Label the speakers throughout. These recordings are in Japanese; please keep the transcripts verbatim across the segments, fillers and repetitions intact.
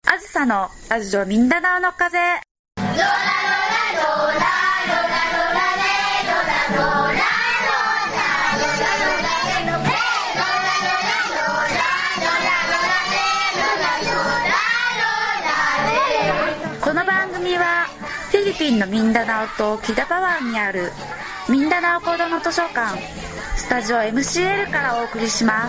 Speaker 1: あずさのラジオミンダナオの風。この番組はフィリピンのミンダナオとキダパ湾にあるミンダナオコードの図書館スタジオ エムシーエル からお送りします。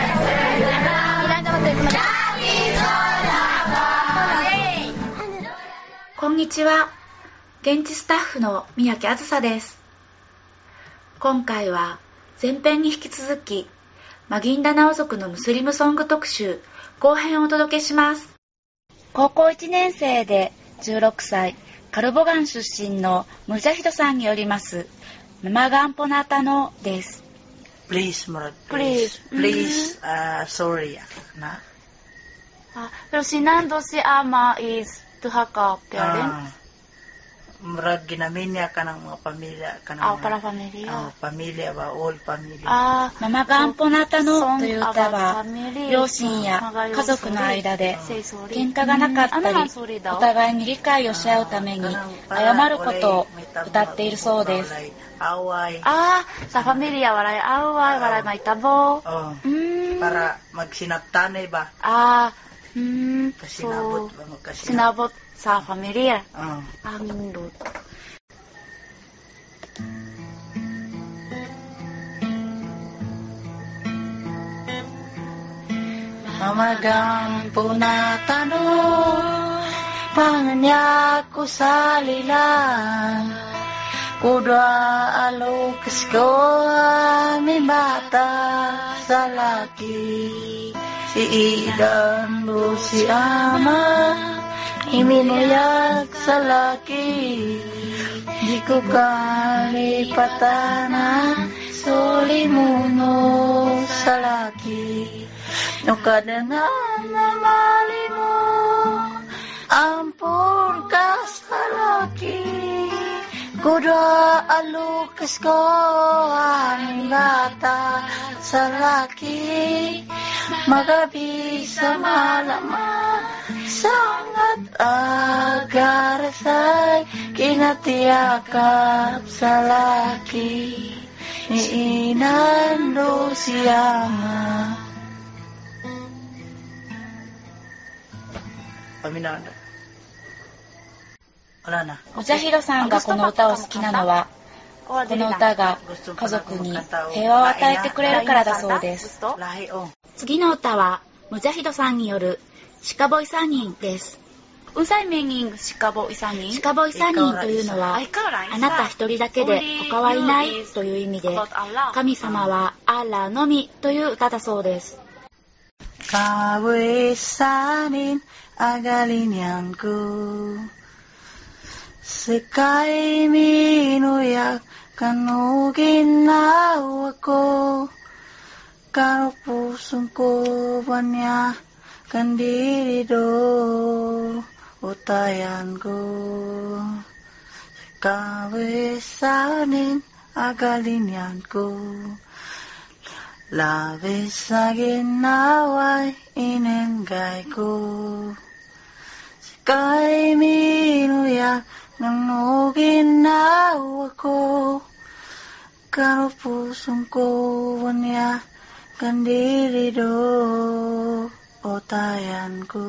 Speaker 1: こんにちは。現地スタッフの宮城あずさです。今回は前編に引き続きマギンダナオ族のムスリムソング特集後編をお届けします。高校いちねん生でじゅうろくさいカルボガン出身のムジャヒドさんによりますママガンポナタノです。
Speaker 2: Please, Murad, please, please, uh, sorry na.
Speaker 1: Ah, pero sinando si ama is tuha ka parents?
Speaker 2: Murag ginamin niya ka ng mga pamilya ka ng
Speaker 1: Ah,
Speaker 2: mga,
Speaker 1: para pamilya.
Speaker 2: Oh, pamilya ba, all family.
Speaker 1: あー、ママガンポナタノという歌は両親や家族の間で喧嘩がなかったりお互いに理解をし合うために謝ることを歌っているそうです。あー、sa pamilya walay away, walay may tabo.
Speaker 2: Para magsinabtanay ba?
Speaker 1: Ah, hmm,
Speaker 2: Kasinabot
Speaker 1: so
Speaker 2: ba magkasinabot?
Speaker 1: sinabot sa pamilya.
Speaker 2: Oh.
Speaker 1: Ang nindot.
Speaker 2: Mamagang punatano, panganyak ko sa lilang, kudwa alukis ko may bata sa laki, si Idan do si Ama, iminuyag sa laki, di ko kalipatana, sulimuno sa laki. No kadangan na mali mo, ampun ka sa laki, kudwa alukas ko ang bata sa laki, magabi sa malaman, sangat agarasay, kinatiyakap sa laki, ni inando siyama. Paminada. Wala na.
Speaker 1: ムジャヒドさんがこの歌を好きなのは、この歌が家族に平和を与えてくれるからだそうです。次の歌はムジャヒドさんによるシカボイサニンです。Unsay meaningシカボイサニン？シカボイサニンというのは、あなた一人だけで他はいないという意味で、神様はアッラーのみという歌だそうです。
Speaker 2: Kawisanin agalin ko, sekay minuyak kanugin na ako, karo pusong ko banya kandiri do utayan ko, kawisanin agalin ko. Labis na ginawa'y inenggay ko, sika'y minuyak ng nuginaw ako, karo pusong ko wanya kandiri do otayan ko.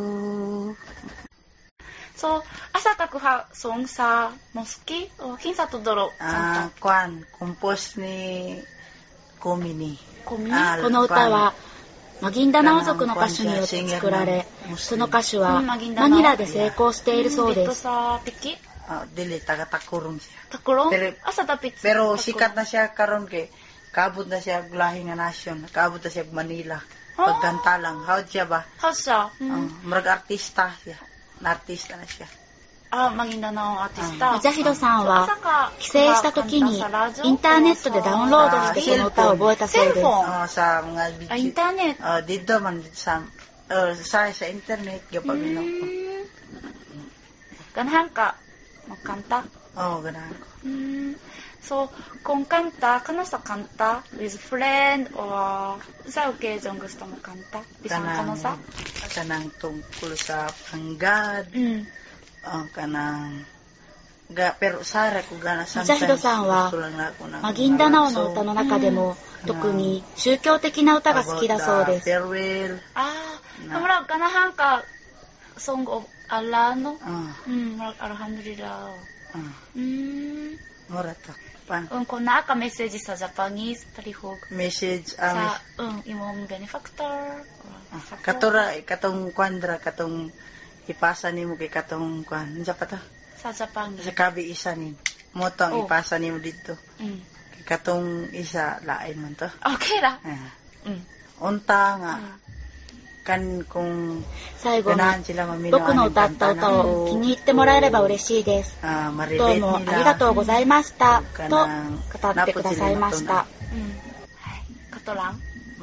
Speaker 1: So, asa ka kuha song sa moski o kinsa tudoro?
Speaker 2: Ah, kwan, compose ni Komini。
Speaker 1: この歌はマギンダナオ族の歌手によって作られ、その歌手はマニラで成功しているそうです。
Speaker 2: Dili, taga-takurong siya.
Speaker 1: Takurong?
Speaker 2: Pero,
Speaker 1: Asa tapit siya?
Speaker 2: Pero sikat na siya karon kay kaabot na siya lahi nga nasyon, kaabot na siya Manila. Pagkanta lang, howd siya ba?
Speaker 1: Howd siya?
Speaker 2: Marag artista siya. Na-artista na siya.
Speaker 1: あ、マギンダナオアーティスタ。ムジャヒドさんは帰省した時にインターネットでダウンロードしてこの歌を覚えたそうです。
Speaker 2: あ、sa mga video.
Speaker 1: あ、インターネット。
Speaker 2: あ、dito man sa sa sa internet gapaminom ko.
Speaker 1: Ganahan ka magkanta?
Speaker 2: Oo, ganahan ko.
Speaker 1: So, kung kanta, kano sa kanta? With friend or sa occasion gusto mo kanta? Bisang kano sa?
Speaker 2: Kanang tungkol sa panggad.
Speaker 1: Mm.
Speaker 2: Uh, kanang ga, pero Sara ko gana sometimes
Speaker 1: ムチャヒドさんはマギンダナオの歌の中でも、うん、特に宗教的な歌が好きだそうです。ああ、murag ganahan ka song of Allah no? Hmm, murag alhamdulillah. Hmm.
Speaker 2: Mura to. Pan.
Speaker 1: Um, kung naa ka message sa Japanese, palihog.
Speaker 2: Message
Speaker 1: um, sa um, imong benefactor.
Speaker 2: Uh, katura, katong kwandra, katong ipasa nimo kay katong kwan. Unsa pa to?
Speaker 1: Sa Japanese.
Speaker 2: Sa kabi isa ni. Mo to ang oh. ipasa nimo dito.
Speaker 1: Mm.
Speaker 2: Kay katong isa lain man to.
Speaker 1: Okay ra.
Speaker 2: Uh. Mm. Unta nga. Mm. Kan kung
Speaker 1: 最後に僕の歌った歌を気に入ってもらえれば嬉しいです。どうもありがとうございましたと語ってくださいました。カトラン。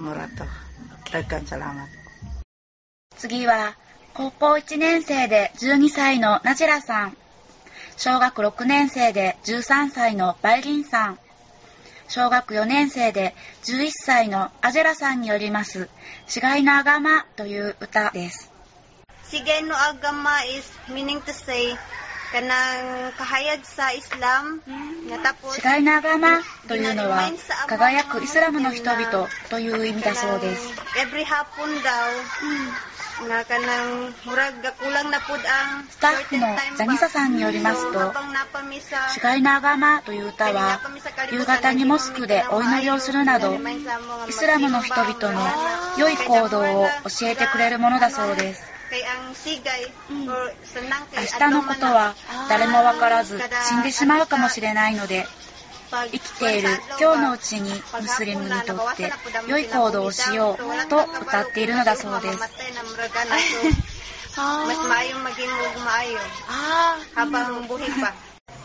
Speaker 1: 次は高校いちねん生でじゅうにさいのナジラさん、小学ろくねん生でじゅうさんさいのバイリンさん、小学よねん生でじゅういっさいのアジェラさんによりますSigay no Agamaという歌です。
Speaker 3: Sigay no Agama is meaning to say kanang kahayag sa Islam nga tapos
Speaker 1: Sigay no Agamaというのは輝くイスラムの人々という意味だそうです。
Speaker 3: Every hapon daw nga kanang murag kulang na pud ang
Speaker 1: スタッフのザニサさんによりますと、Sigay no Agamaという歌は夕方にモスクでお祈りをするなどイスラムの人々の良い行動を教えてくれるものだそうです。うん、明日のことは誰もわからず死んでしまうかもしれないので、生きている今日のうちにムスリムにとって良い行動をしようと歌っているのだそうです。
Speaker 3: Mas maayong maging maayo habang buhay pa.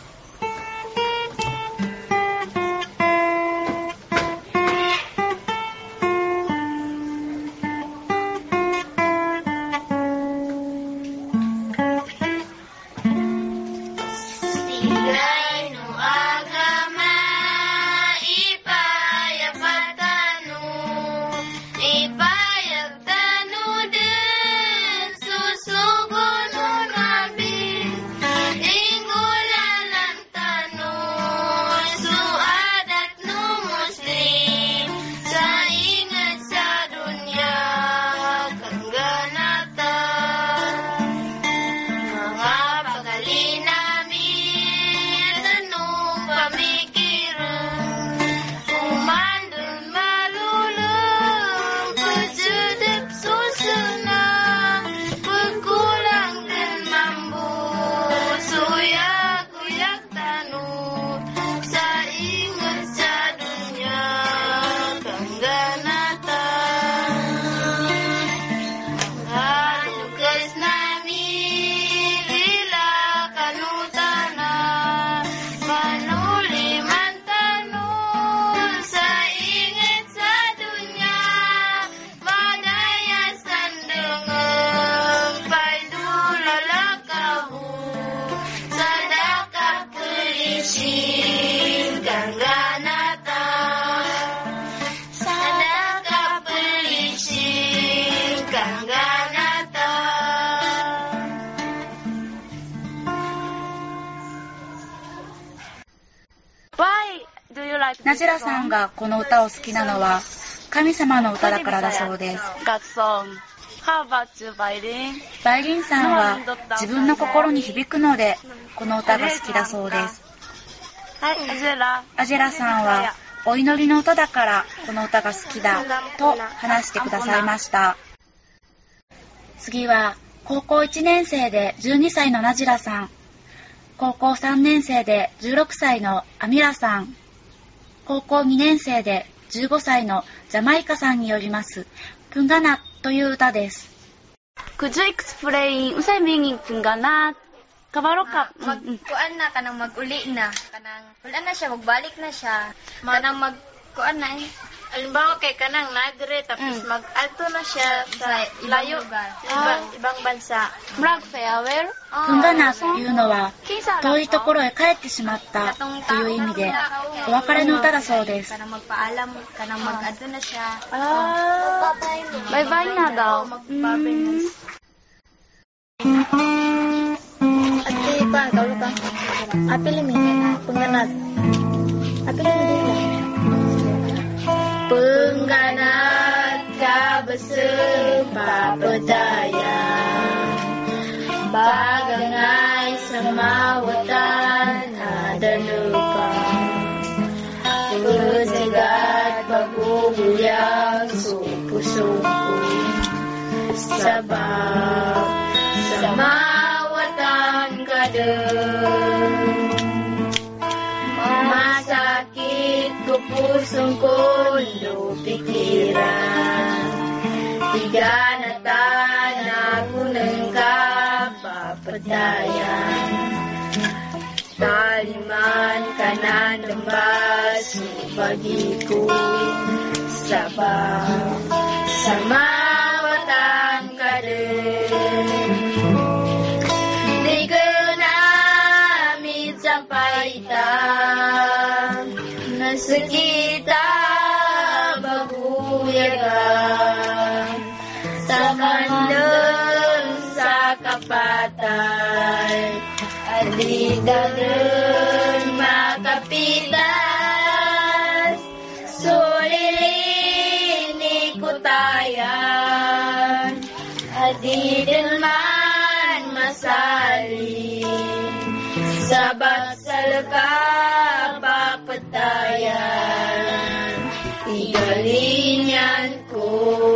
Speaker 1: ナジラさんがこの歌を好きなのは神様の歌だからだそうです。バイリンさんは自分の心に響くのでこの歌が好きだそうです。アジェラさんはお祈りの歌だからこの歌が好きだと話してくださいました。次は高校いちねん生でじゅうにさいのナジラさん、高校さんねん生でじゅうろくさいのアミラさん、高校にねん生でじゅうごさいのジャマイカさんによりますプンガナという歌です。Could you explain usay meaning pun gana? Kabaro ka
Speaker 3: magkuan na kanang maguli na kanang wala na siya magbalik na siya kanang magkuan na eh Halimbawa kay kanang nagre tapos
Speaker 1: Mm.
Speaker 3: mag-alto na siya sa layo,
Speaker 1: Ah.
Speaker 3: ibang, ibang bansa.
Speaker 1: Murag farewell?
Speaker 2: プンガナというのは遠いところへ帰ってしまったという意味でお別れの歌だそうです。
Speaker 3: Kanang magpaalam, kanang mag-alto na siya.
Speaker 1: Ah, bye-bye na daw.
Speaker 3: Magbabay
Speaker 1: Mm. Ate, pa, kaulo ka. Apil mi na, pengganat. Apil mi din lang. Pengganat ka bersepapedaya, bagangai semawatan ada lupa. Berjegat baguyang supu-supu, sebab semawatan kadang masakit ku pusung kondo pikiran tiganatan aku nengkapapadayan taliman kanan lembas bagiku sabab semawatan kadang digenami sampai tak sekitar baguyagan sakandeng sakapatai adidaden makapitas sulilini kutayan adidelman masali sabat salka papatayan igalinyan ko.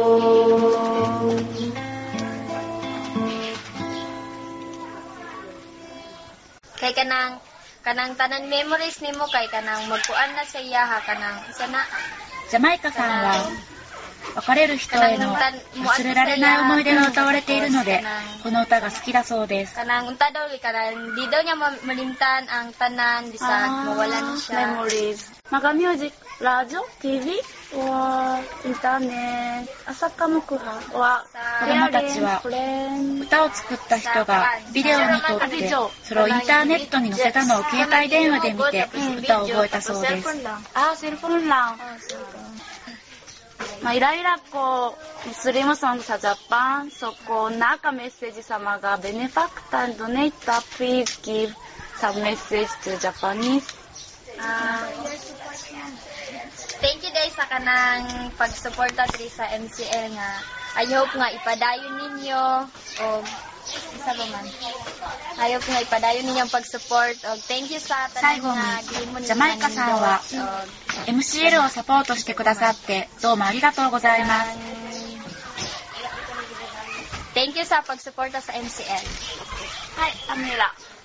Speaker 3: Kay kanang kanang tanan memories nimo kay kanang magkuan na sa iya ha kanang isa na
Speaker 2: ジャマイカさんは別れる人への忘れられない思い出が歌われているのでこの歌が好きだそうです。
Speaker 3: kanang unta daw kanang di daw niya ma- malimtan ang tanan bisag mawala na siya.
Speaker 1: Memories. Maka music, radio, T V, or internet, asaka mukuha, or
Speaker 2: 子供たちは歌を作った人がビデオに撮ってそれをインターネットに載せたのを携帯電話で見て歌を覚えたそうです。
Speaker 1: Ah, cellphone lang. May ila-ila ko Muslim song sa Japan. So, kung naka-message sa mga benefactor and donator, please give some message to Japanese.
Speaker 3: Ah, thank you guys sa kanang pagsuporta diri sa M C L nga. I hope nga ipadayon ninyo o isa ba man. I hope nga ipadayon ninyo ang pag-support o thank you sa tanan nga gilimon
Speaker 2: ジャマイカさんは エムシーエル をサポートしてくださってどうもありがとうございます。
Speaker 3: Thank you sa pagsuporta sa M C L.
Speaker 1: Hi, Amira.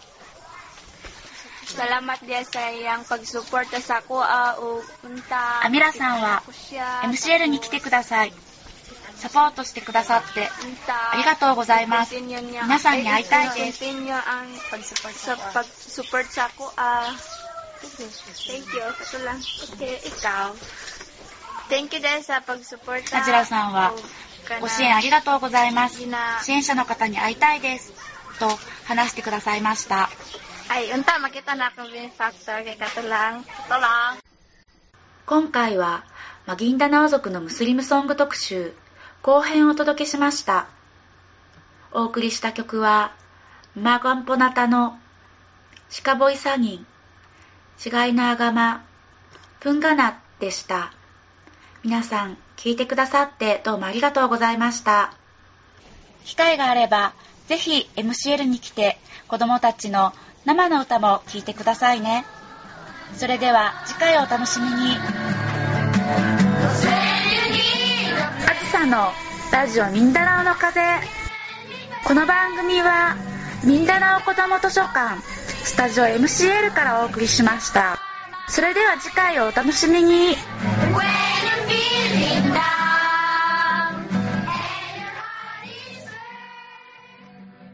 Speaker 1: Salamat dia sa iyang pagsuporta sa ako o punta.
Speaker 2: アミラさんは エムシーエル に来てください。サポートしてくださってありがとうございます。皆さんに会いたいです。
Speaker 1: Continue ang pag-support sa pag-support sa ako. Ah, thank you. Ito lang. Okay, ikaw. Thank you dahil sa pag-support.
Speaker 2: ナジラさんはご支援ありがとうございます。支援者の方に会いたいですと話してくださいました。
Speaker 1: Ay, unta makita na akong benefactor kay kato lang. Ito lang.
Speaker 2: 今回はマギンダナオ族のムスリムソング特集後編をお届けしました。お送りした曲はマガンポナタのシカボイサギンシガイナーガマプンガナでした。皆さん聞いてくださってどうもありがとうございました。機会があればぜひ エムシーエル に来て子どもたちの生の歌も聴いてくださいね。それでは次回をお楽しみに。あずさのラジオミンダナオの風。この番組はミンダナオ子ども図書館スタジオ エムシーエル からお送りしました。それでは次回をお楽しみに。When I'm feeling down